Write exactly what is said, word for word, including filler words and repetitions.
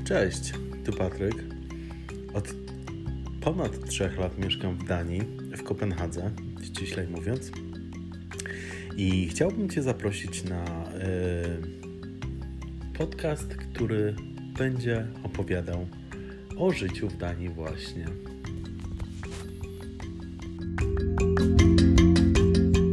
Cześć, tu Patryk. Od ponad trzech lat mieszkam w Danii, w Kopenhadze, ściślej mówiąc. I chciałbym Cię zaprosić na yy, podcast, który będzie opowiadał o życiu w Danii właśnie.